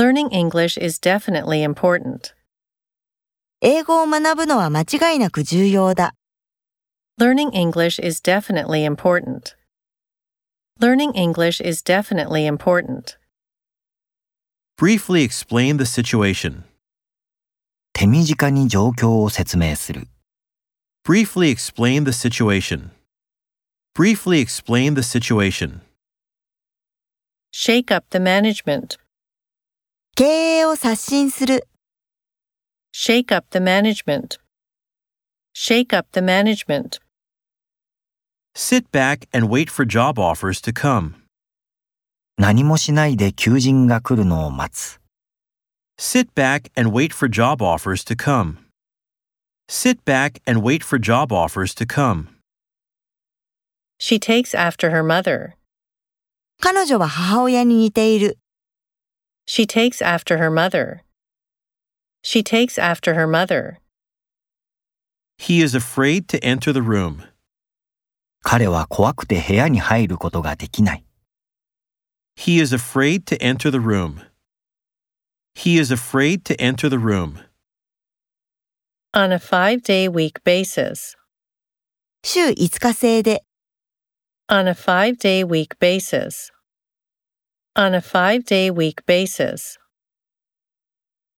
Learning English is definitely important. 英語を学ぶのは間違いなく重要だ。 Learning English is definitely important. Learning English is definitely important. Briefly explain the situation. 手短に状況を説明する。 Briefly explain the situation. Briefly explain the situation. Shake up the management. 経営を刷新する。 Shake up the management. Shake up the management. Sit back and wait for job offers to come. 何もしないで求人が来るのを待つ。 Sit back and wait for job offers to come. Sit back and wait for job offers to come. She takes after her mother. 彼女は母親に似ている。 She takes after her mother. She takes after her mother. He is afraid to enter the room. 彼は怖くて部屋に入ることができない。 He is afraid to enter the room. He is afraid to enter the room. On a 5-day week basis. 週5日制で。 On a 5-day week basis. On a 5-day week basis.